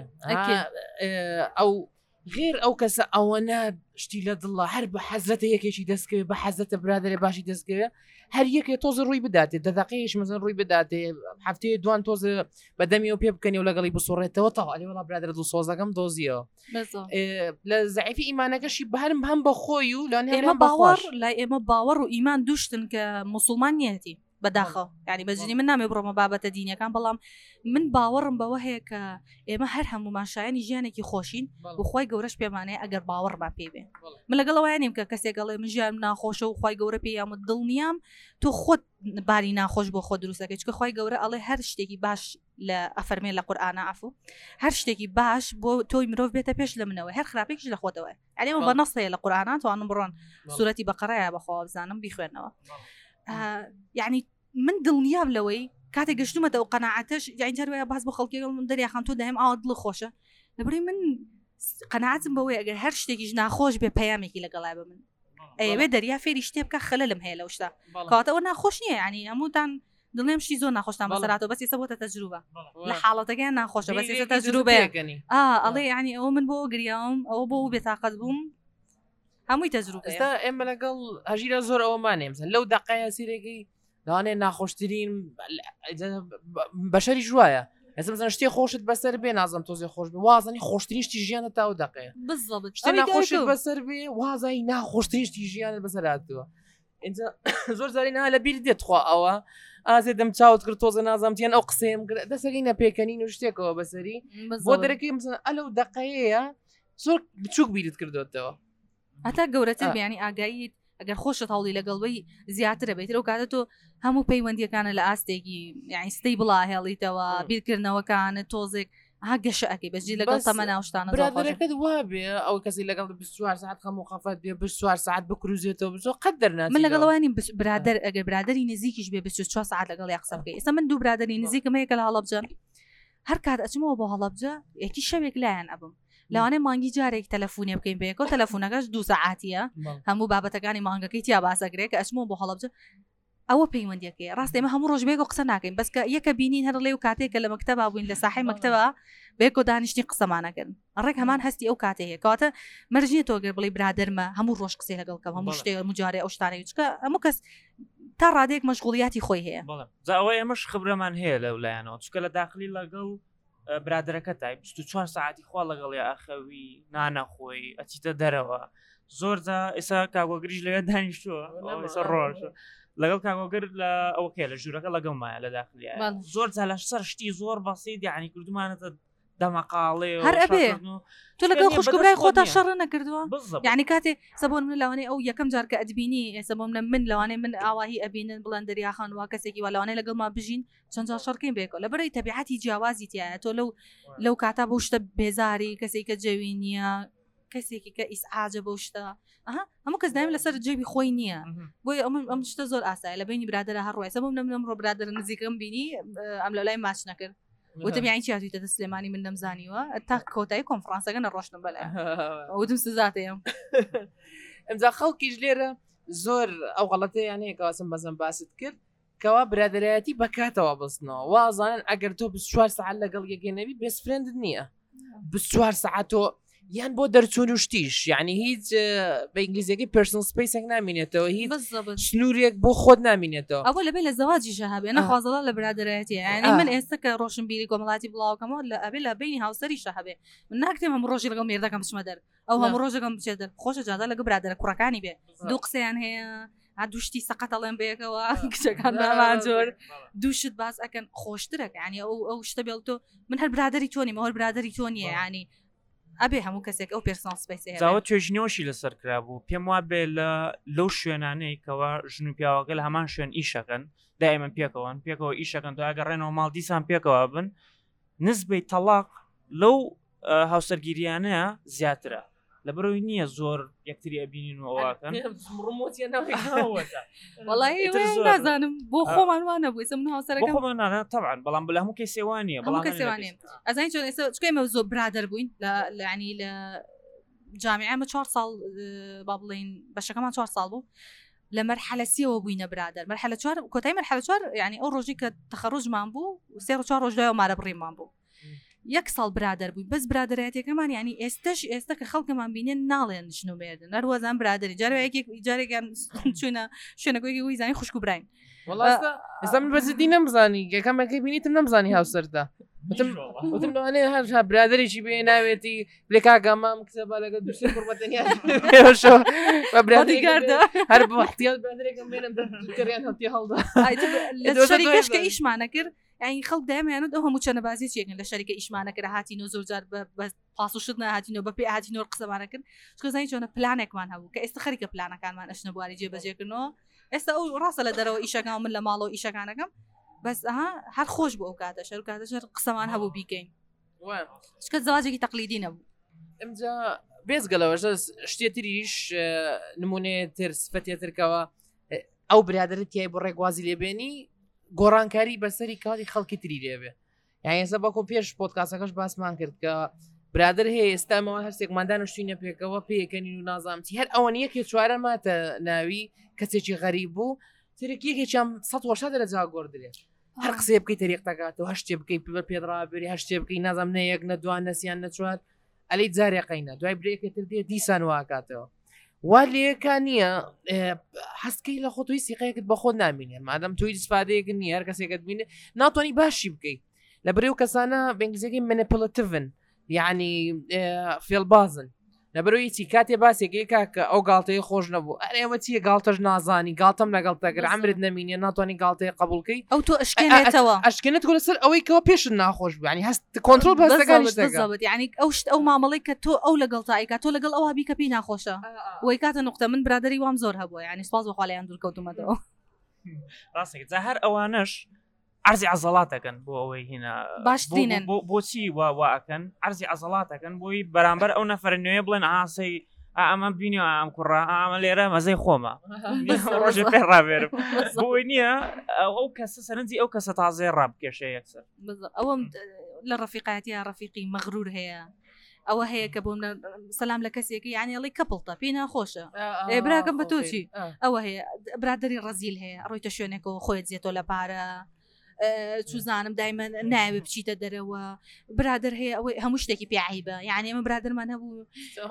ئەو غێر ئەو کەسە ئەوەنە شتی لە دڵە هەر بە حەزرەتە یەکێکی دەستکەوێت بە حەزرەتە برادێ باشی دەستکەوێت هەر یەکێ تۆزە ڕووی بداتێت دەدەقیش مەزن ڕووی بداتێ هەفتەیە دوان تۆزە بەدەمی و پێ بکەنی و لەگەڵی بسۆڕێتەوە تاوالی وڵا برادرە دڵ سۆزەکەم دۆزیەوە لە زەعیفی ئیمانەکەشی بەهرم هەم بە خۆی و لە ئێمە باوەڕ لای ئێمە باوەڕ و ئیمان دوشتن کە موسڵمان نیەتی بەداخە ینی بەجنی من نامێ بڕۆمە بابەتە دینیەکان بەڵام من باوەڕم بەوە هەیە کە ئێمە هەر هەمومان شایانی ژیانێکی خۆشین بخوای گەورەش پێمانەیە ئەگەر باوەڕمان پێ بێ من لەگەڵەوە نیم کە کەسێک گەڵێ من ژیان ناخۆشە و خی گەورە پێ یامە دڵ نیام تۆ خۆت باری ناخۆش بۆ خۆ دروستەکەی چکە خی گەورە ئەڵێ هەر شتێکی باش لە ئەفەرمێن لە قورئانە عفو هەر شتێکی باش بۆ تۆی مرۆڤ بێتە پێش لە منەوە هەر خراپێکیش لە خۆتەوە ئەلێمە بە نەس هەیە لە قورئانە توانم بڕۆن سوورەتی بەقەرەیە بەخوا بزانم بیخوێنەوە یعنی من دڵنیام لەوەی کاتێک گەشتومەتە و قەناعەتەش جاینجاروەیە باز بۆ خەڵکی من دەریاخان تۆ دایم ئاوا دڵ خۆشە لەبڕی من قەناعەتم بەوەی ئەگەر هەر شتێکیش ناخۆش بێ پەیامێکی لەگەڵای بە من ئەوێ دەریا فێری شتێ بکە خەلەلم هەیە لەو شتا کاتەوە ناخۆش نییە ینی هەمووتان دڵێم شتی زۆر ناخۆشتان بەسەراتەوە بەس ئێستا بۆتە تەجروبە لە حاڵەتەکەیان ناخۆشە بەس ئێستا تەجروبەیەکەنی ئەڵێ ینی ئەوە من بۆ گریاوم ئەوە بۆ بێتاقەت بووم هەمووی تەجروبە ئێستا ئێمە لەگەڵ هەژیرە زۆر ئەوەمانێ مثلا لەو دەقەیە سیرێکی لەوانێ ناخۆشترین بەشەری ژوایە ئێستا مثلا شتێ خۆشت بەسەر بێ نازم تۆزێ خۆش بێ وازانی خۆشترین شتی ژیانە تا ئەو دەقەیە شتێ ناخۆشت بەسەر بێ وازایی ناخۆشترین شتی ژیانت بەسەر هاتووە اینجا زۆر زارینە لە بیر دێت خوا ئەوە ئازێ دەم چاوت کرد تۆزە نازانتیان ئەو قسەم دەسەکەی نەپێکەنین و شتێکەوە بەسەری بۆ دەرەکەی مثلا ئەلەو دەقەیەیە زۆر بچووک بیرت کردوتەوە هەتا گەورەتر بیانی ئاگاییت ئەگەر خۆشت هەوڵی لەگەڵەوەی زیاترە بێتەوە کاتە تۆ هەموو پەیوەندیەکانە لە ئاستێکی یعنی ستەی بڵا هێڵیتەوە بیرکردنەوەکانە تۆزێک ها گەشەکەی بەجی لەگەڵ تەمە ناوشتانە برادەکەت وابێ ئەو کەسی لەگەڵ 24 ساعت خەموو خەفەت بێ 24 ساعت بکروزێتەوە بزۆ قەت دەرناچێت من لەگەڵەوەی برادر ئەگەر برادری نزیکیش بێ 24 ساعت لەگەڵ یا قسە بکەی ئێستا من دوو برادری نزیکم هەیە کە لە هەڵەبجە هەر کات ئەچمەوە بۆ هەڵەبجە یەکی شەوێک لایەن ئەبم لەوانەیە مانگی جارێک تەلەفۆنێ بکەین بەیەکەوە تەلەفۆنەکەش 2 ساعاتیە هەموو بابەتەکانی مانگەکەی تیا باسەگرێت کە ئەچمەوە بۆ هەڵەبجە ئەوە پەیوەندیەکەی ڕاستی ئێمە هەموو ڕۆژ بێگە قسە ناکەین بەس کە یەکە بینین هەر لێ و کاتێکە لە مەکتەبا بووین لە ساحەی مەکتەبە بێکۆ دانیشتی قسەمانەکەن ڕێک هەمان هەستی ئەو کاتێ هەیە کەواتە مەرجێت تۆگەر بڵی برادرمە هەموو ڕۆژ قسەی لەگەڵکەم هەموو شتێ مجارێ ئەو شتانەی چکە هەموو کەس تا ڕادێک مەشغوڵیاتی خۆی هەیە ئەوەی ئەمەش خبرەمان هەیە لە لایەنەوە چکە لە داخلی لەگەڵ برادەکە تای 24 ساعتی خوا لەگەڵ یا ئەخەوی نانەخۆی ئەچیتە دەرەوە زۆرجا ئێستا کاگۆگریش لەوێ دانیشتووە ڕۆژ لەگەڵ کاگۆگر لە ئەوکێ لە ژوورەکە لەگەڵ مایە لە داخلی زۆر جا لە سەر شتی زۆر بەسیط یعنی کردومانەتە دەمەقاڵێ هەر ئەبێ تۆ لەگەڵ خوشکبرای خۆتا شەڕ نەکردووە یعنی کاتێ سەبۆن من لەوانەیە ئەو یەکەم جار کە ئەدبینی ئێستا بۆ من لەوانەیە من ئاواهی ئەبینن بڵێن دەریاخان وا کەسێکی وا لەوانەیە لەگەڵ ما بژین چەند جار شەڕکەین بێکەوە لەبەرەوەی تەبیعەتی جیاوازی تایە تۆ لەو کاتا بۆ شتە بێزاری کەسێک کە جەوی نییە کەسێکی کە ئیسعاجە بۆ شتە هەموو کەس دایم لەسەر جێبی خۆی نییە بۆی ئەم شتە زۆر ئاسایە لە بینی برادرە هەڕۆی سەبوو نەمڕۆ برادر نزیکم بینی ئەم لە لای ماچ نەکرد وتم یانی چیاتویتە سلێمانی من نەمزانیوە تا کۆتایی کۆنفرانسەکە نەڕۆشتم بەلای وتم سزاتەیەم ئەمجا خەڵکیش لێرە زۆر ئەو غەڵەتەیان هەیە کەواسم بەزم باست کرد کەوا برادایەتی بەکاتەوە بستنەوە وازانن ئەگەر تۆ 24 ساعت لەگەڵ یەکێنەوی بێست فرێندت نییە 24 ساعت تۆ یان بۆ دەرچوون و شتیش یعنی هیچ بە ئینگلیزیەکەی پرسنل سپیسێک نامینێتەوە هیچ سنوورێک بۆ خۆت نامینێتەوە ئەوە لەبێ لە زەواجی شەهابێ نەخوازەڵا لە برادایەتی یعنی من ئێستا کە ڕۆشنبیری کۆمەڵاتی بڵاوکەمەوە لە ئەبێ لە بینی هاوسەری شەهابێ من ناکتێم هەموو ڕۆژی لەگەڵ مێردەکەم بچمە دەر ئەو هەموو ڕۆژەکەم بچێت دەر خۆشە جادا لەگە برادرە کوڕەکانی بێ دوو قسەیان هەیە دوشتی سەقەتەڵێن بەیەکەوە کچەکان بامان زۆر دووشت باز ئەکەن خۆشترەکە ینی ئەو شتە بێڵ تۆ من هەر برادری تۆنی مەوە برادری تۆ نییە ینی ئەبێ هەموو کەسێک ئەو پرسنل سپیس زاوە توێژنەوەشی لەسەر کرابوو پێم وا بێ لەو شوێنانەی کەەوە ژن و پیاوەکە لە هەمان شوێن ئیشەکەن دائما پێکەوە ئیشەکەن دوگەڕێنەوە ماڵ دیسان پێکەوە بن نسبەی تەلاق لەو هاوسەرگیریانەیە زیاترە لەبەرەوەی نییە زۆر یەکتری ئەبینین و ئەوواکەن نازانم بۆ خۆمانوانە بووی من هاوسەرەکەم طبعا بەڵام بەلا هەموو کەسێوانیە ئەزانی چۆن ئێستا چکەمە زۆر برادر بووین ینی لە جامیعمە 4 ساڵ با بڵین بەشەکەمان 4 ساڵ بوو لە مەرحەلەسیەوە بووینە برادر مەرحەلە 4 کۆتایی مەرحەلە 4 ینی ئەو ڕۆژی کە تەخەڕوجمان بوو 3 4 ڕۆژ دوای مارە بڕیمان بوو یەک ساڵ برادر بووی بەس برادایەتەکەمان ینی ئێستا کە خەڵکەمان بینێن ناڵێن ژن و مێردن نەروەزان برادری جارێکیان چوونە شوێنەکۆیکی وی زانی خوشک و براین ئێستا من بەزدی نەمزانی یەکەمەکەی بینیتم نەمزانی هاوسەردا وتم لەوانەیە هەر برادێکی بێ ناوێتی بلێ کاگەمام کتێبە لەگە دووسێ قوربەتەنیا بە برادیگاردە هەر بۆ احتیاط برادێکم بێنم دەکەریان هەڵتی هەڵدا لە شەریکەشکە ئیشمانە کرد ئەین خەڵک دایمەیانوت ئەو هەموو چەنەبازی چێکن لە شەریکە ئیشمانەکەرە هاتیینەوە زۆر جار بە پاسوشت نهاتینەوە بە پێ هاتیینەوە قسەمانە کرد چکەزانی چۆنە پلانێکمان هەبوو کە ئێستا خەریکە پلانەکانمان ئەشنە بواری جێبەجێکردنەوە ئێستا ئەو ڕاستە لە دەرەوە ئیشەکان من لە ماڵەوە ئیشەکانەکەم بەس هەر خۆش بۆ ئەو کاتە شەر کاتەشەر قسەمان هەبوو بیکەین شکە زەواجێکی تەقلیدی نەبوو ئەمجا بێزگەلەوە شتێتریش نمونێتر سفەتێترکەوە ئەو برادرت تیای بۆ ڕێگوازی لێبێنی گۆڕانکاری بەسەری کاتی خەڵکی تری لێبێ یان ئێستا بەکۆ پێش پۆدکاسەکەش باسمان کرد کە برادر هەیە ئێستامەوە هەرسێکماندان شتینە پێکەوە پێکەنین و نازامتی هەر ئەوەن یەکێ چوارە ماتە ناوی کەسێکی غەریب بوو ترێک یەکێکیان 100 دەرەجا گۆڕدرێت هەر قسێ بکەی تەریق تەکاتەوە هەر شتێ بکەی پێدرابێری هەر شتێ بکەی نازام نەیەک نە دوان نەسییان نەچوار ئەلەی جارێقینە دوای برێکێتر دێ دیسان واکاتەوە وا لێەکە نییە حەسکەی لە خۆتوی سیقەیەکت بە خۆت نامینێ مادەم توی دیسپادەیەک نیە هەر کەسێکت بینێ ناتوانانی باشی بکەیت لە بەرێو کەسانە بەنگلیزیەکەی منیپولەتیڤن یعنی فێڵبازن لە بەرەوەی چی کاتێ باسێکی کاکە ئەو گاڵتەیە خۆش نەبوو ئەرێمە چیە گاڵتەش نازانی گاڵتەم لەگەڵ تەگەر ئەمرت نەمینێ ناتوانانی گاڵتەیە قبولکەی ئەو تۆ ئەشکێنێتەوە ئەشکێنێت لەسەر ئەوەی کەەوە پێشت ناخۆش بوو ینی هەست کۆنتڕۆل بەزەکانی ینی ئەو شت ئەو مامەڵی کە تۆ ئەو لەگەڵتایکە تۆ لەگەڵ ئەوە بی کە پێی ناخۆشە وی کاتە نقطە من برادری وام زۆر هەبووە ینی سپاس بەخوالیان دوور کەوتومەتەوە ڕاستێک جا هەر ئەوانش عرضی عضلاتەکەن بۆ ئەوەی هێنا باشترینن بۆچی واکەن عرضی عضلاتەکەن بۆی بەرامبەر ئەو نەفرە نوێ بڵێن ئاسی ئەمە بینی ئەم کوڕا ئەمە لێرە مەزەی خۆمە ڕۆژێ پێ ڕابێرم بۆی نییە ئەو کەسە سەرنجی ئەو کەسە تازەی ڕابکێشە یەکسەر ئەوەم لە ڕەفیقایەتیە ڕەفیقی مەغرور هەیە ئەوە هەیە کە بۆم سەلام لە کەسێکی یعنی کەپڵتە پێی ناخۆشە براکەم بە تۆچی ئەوە هەیە برادری ڕەزیل هەیە ڕۆیتە شوێنێکەوە خۆیت زیێتۆ لە پارە چوزانم دایمە ناوێ بچیتە دەرەوە برادر هەیە ئەوەی هەموو شتێکی پێعیبە یعنی ئەمە برادرمان هەبوو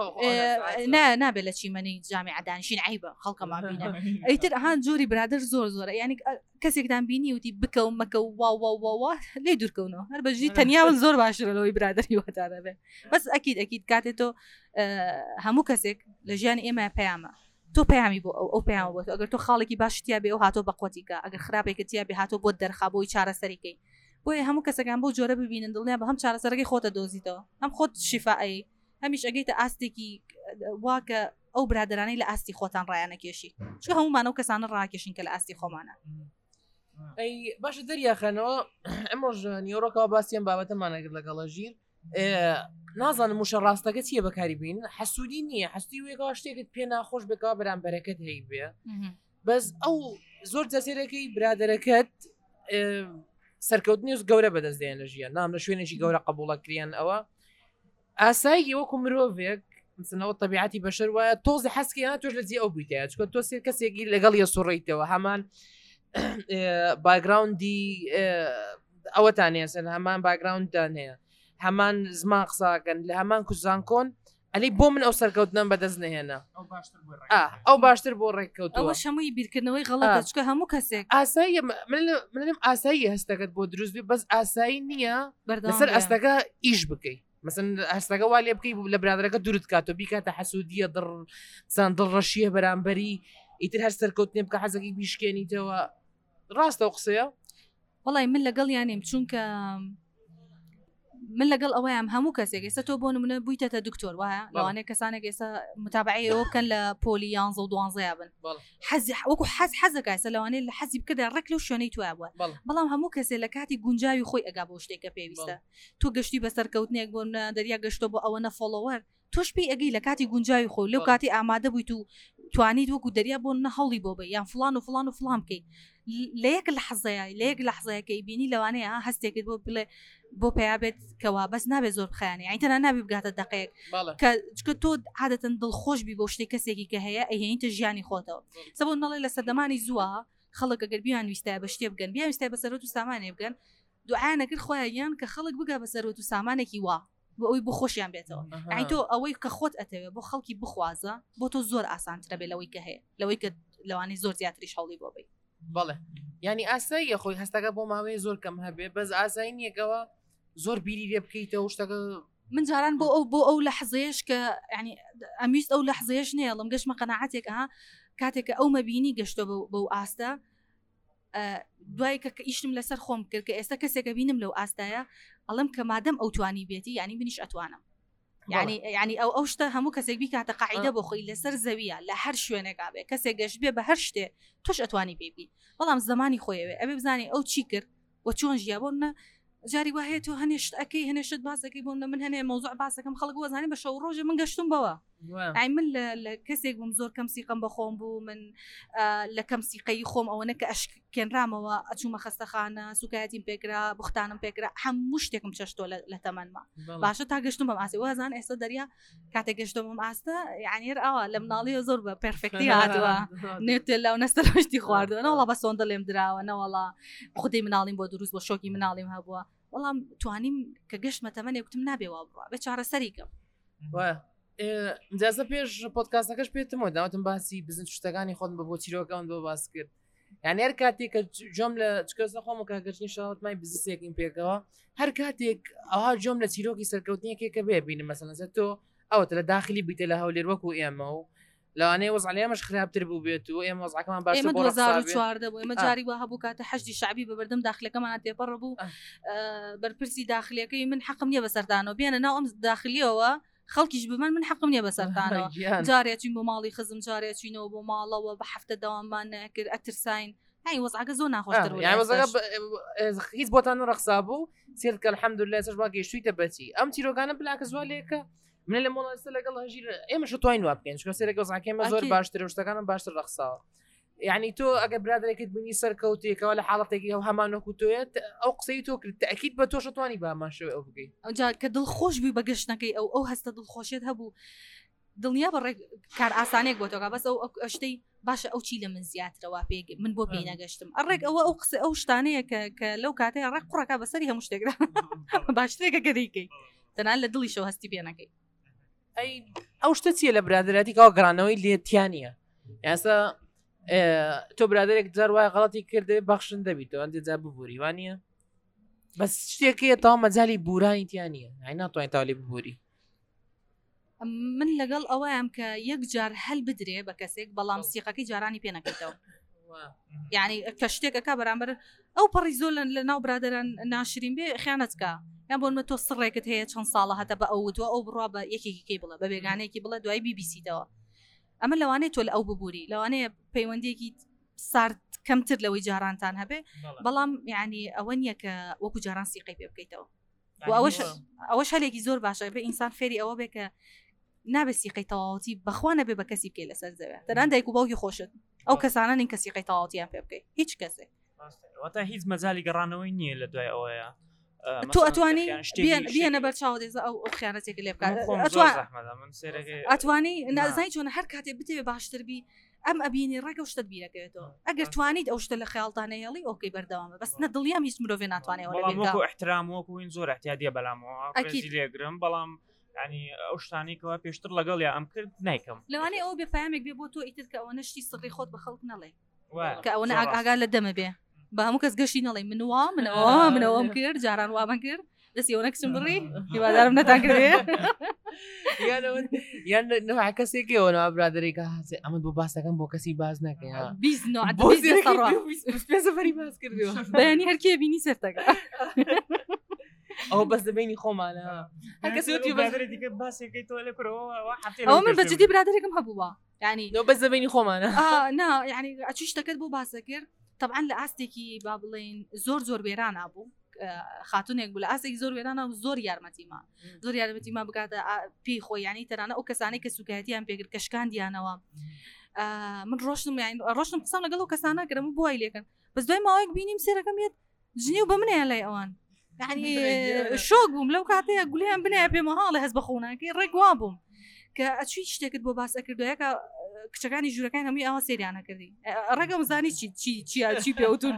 نابێت لە چیمەنی جامی عدانشین عیبە خەڵکەمان بینە ئەیتر هاان جۆری برادر زۆر یعنی کەسێکدان بینی وتی بکە مەکە وا لێ دوورکەونەوە هەر بەژی تەنیاوە زۆر باشترەوەی برادری وەتانە بێ بەس ئەکید کاتێت تۆ هەموو کەسێک لە ژیان ئێمە پەیامە تۆ پەیامی بۆ ئەو پەیام بۆ ئەگەر تۆ خاڵێکی باشتیا بێ ئەو هاتۆ بەقوتیکە ئەگەر خراپێکتیا بێ هاتۆ بۆ دەرخا بۆی چارەسەریکەی بۆیە هەموو کەسەکان بۆ جۆرە ببینن دڵنیا بە هەم چارەسەرەکەی خۆتە دۆزیتەوە هەم خۆت شیفائی هەمیش ئەگەیتە ئاستێکی واکە ئەو برادرانەی لە ئاستی خۆتان ڕایانە کێشی چکە هەمومان ئەو کەسانە ڕاکێشین کە لە ئاستی خۆمانە ئەی باشە دەریاخەنەوە ئەمەش نیۆڕۆکەوە باسییان بابەتەمانەگرت لەگەڵە ژیر نازانم موشە ڕاستەکە چیە بەکاری بین حەسوودی نییە حستی وێکەوە شتێکت پێ ناخۆش بکەوە بەرامبەرەکەت هەی بێ بەس ئەو زۆر جەسێرەکەی برادەرەکەت سەرکەوتنی گەورە بەدەستدێن لە ژیان نام لە شوێنێکی گەورە قبوڵەکریان ئەوە ئاسایی وەکو مرۆڤێک مثلەوە طبیعەتی بەشەر وایە تۆزی حەسکیان تۆش لە جێ ئەو بیتەیە چکە تۆ سێ کەسێکی لەگەڵ یە سوڕیتەوە هەمان باگراوندی ئەوەتان هێسن هەمان باگراونددان هەیە هەمان زمان قساکەن لە هەمان کوزان کۆن ئەلی بۆ من ئەو سەرکەوتنم بەدەست نهێنا ئەو باشتر بۆ ڕێککەوتەوە ئەوە شەمووی بیرکردنەوەی غەڵەتە چکە هەموو کەسێک ئاسایی منم ئاسایی هەستەکەت بۆ دروست بێ بەس ئاسایی نییە لەسەر ئەستەکە ئیش بکەیت مثلا هەستەکە وا لێ بکەی لە برادەکە دوورت کاتۆ بیکاتە حەسوودیە دڵڕەشیە بەرامبەری ئیتر هەر سەرکەوتنێ بکە حەزەکەی بیشکێنیتەوە ڕاستە و قسەیە وەڵی من لەگەڵ یانیم چونکە من لەگەڵ ئەوەیان هەموو کەسێک ئێستا تۆ بۆ نمونە بوویتە دکتۆر وایە لەوانەیە کەسانێک ئێستا متابعی ئەوکەن لە پۆلی 11 و 12 بن وەکو حەزەکە ئێستا لەوانەیە لە حەزی بکەدا ڕێک لەو شوێنەی توە بووە بەڵام هەموو کەسێک لە کاتی گونجاوی خۆی ئەگا بۆ شتێکە پێویستە تۆ گەشتی بە سەرکەوتنێک بۆ دەریا گەشتۆ بۆ ئەوە نەفۆڵۆوەر تۆش پێی ئەگەی لە کاتی گونجاوی خۆ لەو کاتی ئامادە بوویت و توانیت وەکو دەریا بۆ نەهەڵی بۆ بێ یان فلان و فلان و فلان بکەیت لە یەک لە حەزەیەکەی بینی لەوانەیە هەستێکت بۆ بڵێ بۆ پێیا بێت کەوا بەس نابێت زۆر بخیانی ئەیتەنە نابی بگاتە دقەیەک کە تۆ عادەتەن دڵخۆش بی بۆ شتێک کەسێکی کە هەیە ئەهێنیتە ژیانی خۆتەوە سەبوو نەڵێ لە سەردەمانی زووە خەڵک ئەگەر بیان ویستای بە شتێ بگەن بیان ویستای بە سەرۆت و سامانێ بگەن دوعایانەکرد خۆیان کە خەڵک بگا بە سەرۆت و سامانێکی وا بۆ ئەوی بۆ خۆشیان بێتەوە ئەی تۆ ئەوەی کە خۆت ئەتەوێ بۆ خەڵکی بخوازە بۆ تۆ زۆر ئاسانترە بێت لەوەی کە هەیە لەوەی کە لەوانی زۆر زیاتریش هەڵی بۆ بێ بەڵێ ینی ئاساییە خۆی هەستەکە بۆ ماوەیە زۆر کەم هەبێ بەس ئاسایی نیەکەوە زۆر بیری لێ بکەیتەوە شتەکە من جاران بۆ ئەو لە حەزەیەش کە ینی ئەمیست ئەو لە حەزەیەش نێڵم گەشتمە قەناعەتێک کاتێککە ئەو مەبینی گەشتە بەو ئاستە دوای کە ئیشتم لەسەر خۆم کرد کە ئێستا کەسێکە بینم لەو ئاستایە ئەڵم کە مادەم ئەو توانی بێتی ینی منیش ئەتوانم ینی ئەو شتە هەموو کەسێک بیکاتە قاعیدە بۆ خۆی لەسەر زەویە لە هەر شوێنێکا بێ کەسێک گەشت بێ بە هەر شتێ تۆش ئەتوانی بێبی بەڵام زمانی خۆیەوێ ئەبێ بزانێ ئەو چی کرد و چۆن ژیا بۆنە جاری وهەیە تۆ هەنێشت ئەەکەی هەنێشت باسەکەی بۆنە من هەنێ مەوزوع باسەکەم خەڵک وەزانانی بە شەو ڕۆژە من گەشتم بەوە ئای من لە کەسێک بووم زۆر کەم سیقم بە خۆم بوو من لە کەم سیقەی خۆم ئەوەنە کە ئەشکێنرامەوە ئەچوومە خەستەخانە سوکایەتیم پێکرا بختانم پێکرا هەموو شتێکم چەشتۆ لە تەمەنما باشە تا گەشتم بەم ئاسی وازان ئێستا دەریا کاتێک گەشتم بەم ئاستە یعنی ئەوە لە مناڵیە زۆر بە پرفکتی هاتووە نێتە لەو نەستەشتی خواردووە نەوەڵا بە سۆندە لێم دراوە نەوەڵا خودی مناڵیم بۆ دروست بۆ شۆکی مناڵیم هەبووە وەڵام توانیم کە گەشتمە تەمەنێ وتم نابێەوە بڕە بێ چارەسەریکەم جازە پێش پۆدکاستەکەش پێتمەوە داوتم باسی بزن شتەکانی خۆن بە بۆ چیرۆکەون بۆ باس کرد یعنی هەر کاتێک کە جۆم لە چکەسە خۆم و کاگەشتنی شاوتمای بزنسێکیم پێکەوە هەر کاتێک ئەوها جۆم لە چیرۆکی سەرکەوتنیەکێکە بێبینم مەسەلەن تۆ ئەوەتە لە داخلی بیتە لە هەولێر وەکو ئێمە و لەوانەیە وەزعلێمەش خراپتر بوو بێت و ئێمە وەزعەکەمان باش ئێمە 2014 بوو ئێمە جاری وە هەبوو کاتە حەشتی شعبی بە بەردەم داخلەکەمان تێپەڕ بوو بەرپرسی داخلیەکەی من حەقم نییە بەسەردانەوە بێنە ناو ئەم داخلیەوە خەڵکیش بمن من حەقم نییە بەسەردانەوە جارێکین بۆ ماڵی خزم جارێکینەوە بۆ ماڵەوە بە هەفتە داواممان نەکرد ئەترساین هاي وەزعەکە زۆر ناخۆشتر يعني وەزەکە هیچ بۆتان ڕەخسا بوو سێرکە الحەمدولله سەرما گەیشتوویتە بەچی ئەم تیرۆگانە بلاکە زۆر لێکە من لە مۆڵەستە لەگەڵ هەژیر ئێمەش توانین وا بکەین چکە سێرەکە وەزعەکەمە زۆر باشترە شتەکانم باشتر ڕەخساوە يعني تۆ ئەگە برادێکت بینی سەرکەوتێکەوە لە حاڵەتێکی ئەو هەمانۆکو تۆیت ئەو قسەی تۆ کرد تەکید بە تۆش توانی باماشەوە ئەو بگەیت ئەوجا کە دڵخۆش بووی بە گەشتەکەی ئەو هەستە دڵخۆشیت هەبوو دڵنیا بە ڕێک کار ئاسانێک بۆ تۆگا بەس ئەو شتەی باشە ئەو چی لە من زیاترەوە پێ من بۆ پێی نەگەشتم ئەڕێک ئەو قسە ئەو شتانەیە کە لەو کاتەیە ڕێک قوڕەکە بەسەری هەموو شتێکدا باشترێکە گەدەیکەی تەنان لە دڵیشەوە هەستی پێ نەکەی ئەی ئەو شتە چیە لە برادراتی کاوە گرانەوەی لێتیانە یاسا تۆ برادێک جار وای غەڵەتی کردێ بەخشن دەبیتەوە ئەندێ جا ببووری وانە بەس شتێکەیە تاوا مەجای بورانی تیانە هاي ناتوانین تاوەلی ببووری من لەگەڵ ئەوەیەم کە یەک جار هەل بدرێ بە کەسێک بەڵام سیقەکەی جارانی پێ نەکەیتەوە یعنی کە شتێکەکە بەرامبەر ئەو پەڕی زۆر لە ناو برادران ناشرین بێ خیانەتکە یان بۆ تۆ سڕێکت هەیە چەند ساڵە هەتا بە ئەوتوە ئەو بڕوا بە یەکێکی بڵە بە بێگانەیەکی بڵە دوای بیبیسیتەوە ئەمە لەوانەیە تۆ لە ئەو ببووری لەوانەیە پەیوەندێکی سارد کەمتر لەوەی جارانتان هەبێ بەڵام یعنی ئەوە نییە کە وەکو جاران سیقەی پێ بکەیتەوە ئەوەش هەلێکی زۆر باشە بە ئینسان فێری ئەوە بێ کە نابێت سیقەی تەواوەتی بەخوا نەبێ بە کەسی بکەی لەسەر زەوێ تەنان دایک و باوکی خۆشت ئەو کەسانە نین کە سیقەی تەواوەتیان پێ بکەی هیچ کەسێک واتە هیچ مەجالی گەڕانەوەی نییە لە دوای ئەوەیە تۆ ئەتوانی بێنە بەرچاو دێزە ئەو خیانەتێک لێ بکات ئەتوانی نازانی چۆن هەر کاتێ بتێ باشتر بی ئەم ئەبینی ڕێگە شتت بیرەکەوێتەوە ئەگەر توانیت ئەو شتە لە خەیاڵتانەیەڵی ئۆکەی بەردەوامە بەس نە دڵیام هیچ مرۆڤێ ناتوانێت احترام وەکوین زۆر احتیادیە بەلامەوە لێگرم بەڵام ینی ئەو شتانێکەوە پێشتر لەگەڵ یا ئەم کرد نیکەم لەوانەیە ئەوە بێپایامێک بێ بۆ تۆ ئیتر کە ئەوە نشتی سڕی خۆت بە خەڵک نەڵێ کە ئەوە ئاگا لە دەمە بێ بە هەموو کەس گەشتی نەڵێ منەوەم کرد جاران وامە کرد دەستی ئەوە نەکسم بڕی هیوادارم نەتان کردێ یان نوع کەسێکەوە ناو برادێکە هاچێ ئەمە بۆ باسەکەم بۆ کەسی باز نەکەین سەفەری باز کردەوە بەیانی هەرکێ بینی سەرتەکە ئەو بەس دەبینی خۆمانە ئەو من بەجددی برادێکم هەبووە ینی بەس دەبینی خۆمانە نا ینی ئەچی شتەکەت بۆ باسە کرد طبعا لە ئاستێکی با بڵێن زۆر وێران نبوو خاتونێک بوو لە ئاسێکی زۆر وێرانە زۆر یارمەتیمان بکاتە پێی خۆی ینی تەنانە ئەو کەسانەی کە سوکایەتیان پێگر کەشکان دیانەوە من ڕۆشتم قسەم لەگەڵ ئەو کەسانە کەرەمە بۆ وای لێکن بەس دوای ماوەیەک بینیم سێرەکەم یەت ژنی و بە منەیە لای ئەوان یعنی شۆک بووم لەو کاتەیە گولیان بنایە پێمە هاڵی هەست بە خۆناکەی ڕێک وا بووم کە ئەچوی شتێکت بۆ باس ئەکردویەکە کچەکانی ژوورەکان هەمووی ئەوە سریانە کردی ڕێگەم زانی چی پێوتون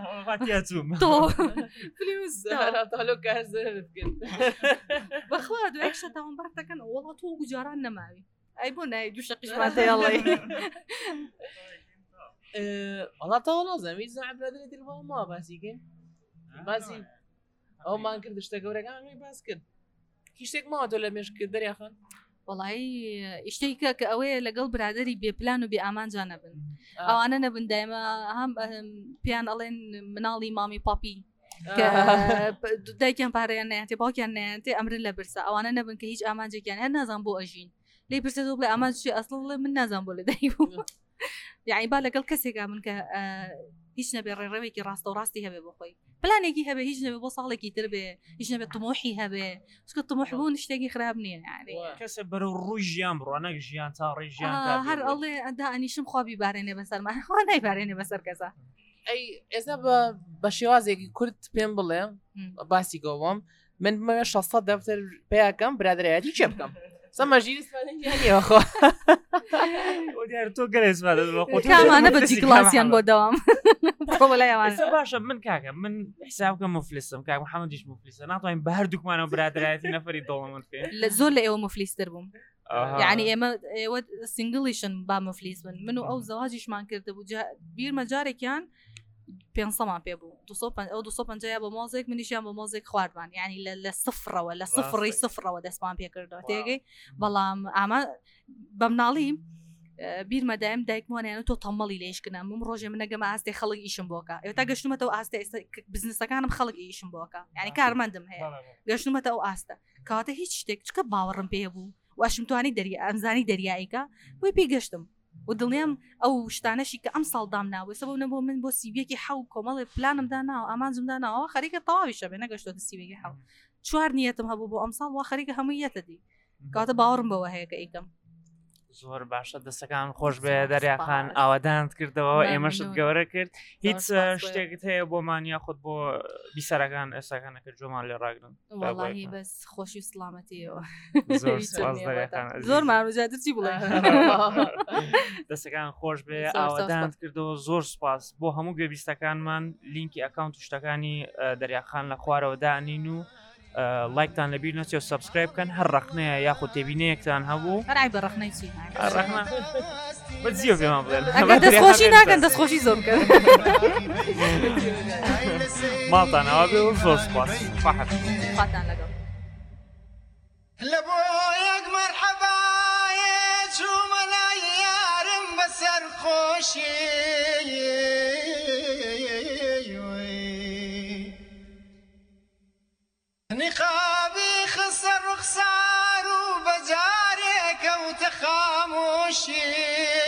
بەخوا دوای شە تاوان بەرتەکەن وەڵا تۆ گوجاران نەماوی ئەی بۆ نای دوو شەقیشماتەیەڵی وڵا تاوە نازەمی زعبرادێت ما باسیکەین باسی ئەومان کرد شتە گەورەکانی باس کرد هیچ شتێک ماوە تۆ لە مێشک دەریاخان وڵایی شتێکە کە ئەوەیە لەگەڵ برادری بێپلان و بێ ئامانجا نەبن ئەوانە نەبن دایمە هەم پیان ئەڵێن مناڵی مامی پاپی دایکیان پارەیان نەیانتێ باوکیان نەیانتێ ئەمرن لە برسە ئەوانە نەبن کە هیچ ئامانجێکیان هەر نازان بۆ ئەژین لێ پرسێت بڵێ ئامانجی ئەسڵ من نازان بۆ لە دای بوو یعنی با لەگەڵ کەسێکا من کە هیچ نەبێ ڕێڕەوێکی ڕاستە و ڕاستی هەبێ بۆ خۆی پلانێکی هەبێ هیچ نەبێ بۆ ساڵێکی تر بێ هیچ نەبێت تمۆحی هەبێ چکە تمۆح بوون شتێکی خراپ نییە کەسە بەرەو ڕووی ژیان بڕوانەك ژیان تا ڕێژیان هەر ئەڵێ ئەدا ئەنیشم خوا بیبارێنێ بەسەرمان خوا نایبارێنێ بەسەر کەسە ئەی ئێستا بە شێوازێکی کورت پێم بڵێ باسی گۆوەم من بمەوێ 600 دەفتەر پێیاکەم برادایەتی چێ بکەم سەمەژیخۆ تۆ گەرێزمانە بەجی کلاسیان بۆ دەوام باشە من کاکە من حسابکە مفلیسم کاک محەممەدیش مفلیسە ناتوانین بە هەردووکمانەوە برادایەتی نەفەری دڵمت پێ زۆر لە ئێوە مفلیستر بووم یعنی ئێوە سنگلیشن با مفلیس بن من و ئەو زەواجیشمان کرده بوو بیرمە جارێکیان 500مان پێ بوو 250 بە مۆزێک منیشیان بە مۆزێک خواردمان یعنی لە سفرەوە لە سفرەوە دەستمان پێ کردەوە تێگەی بەڵام ئاما بە مناڵی بیرمەدایم دایکمانیان تۆ تەمەڵی لێشکنم من ڕۆژێ منەگەمە ئاستێ خەڵک ئیشم بۆکە ئێوە تا گەشتمەتەوە ئاستە بزنسەکانم خەڵک ئیشم بۆکە یعنی کارمەندم هەیە گەشتمەتە ئەو ئاستە کەواتە هیچ شتێک چکە باوەڕم پێ بوو واشم توانی ئەمزانی دەریاییکە بۆی پێی گەشتم و دڵنیام ئەو شتانەشی کە ئەم ساڵ دامناوە سەبەب نەبوو من بۆ سیویەکی حەو کۆمەڵێ پلانم داناوە ئامانجم داناوە خەریکە تەواوی شەبێ نەگەشتۆتە سیوێکی حەو 4 نیەتم هەبوو بۆ ئەم ساڵ وا خەریکە هەموو یەتە دی کاتە باوەڕم بەوە هەیە کە ئیکەم زۆر باشە دەستەکان خۆش بێ دەریاخان ئاوادانت کردەوە ئێمەشت گەورە کرد هیچ شتێکت هەیە بۆمان یاخود بۆ بیسەرەکان ئێستاکانەکە جۆمان لێ ڕاگرن واللهی بەس خۆشی و سلامەتیەوە زۆر ماروجاتر چی بڵێ دەستەکان خۆش بێ ئاوادانت کردەوە زۆر سپاس بۆ هەموو گوێبیستەکانمان لینکی ئەکاونت و شتەکانی دەریاخان لە خوارەوە دانین و لایکتان لەبیر نەچێت و سەبسکرایب بکەن هەر ڕەخنەیە یاخود تێبینەیەکتان هەبوو هەرای بە ڕەخنەی چی بەجیۆ پێمان بڵێن دەستخۆشی ناکەن دەستخۆشی زۆر بکەن ماڵتان ئەوە بێ و زۆر سپاس خواتان لەگەڵ لە بۆ یەک مەرحەبایە چوومە لای یارم بەسەر خۆشی نقابی خسە ڕوخسار و بەجارێکەوتە خامۆشی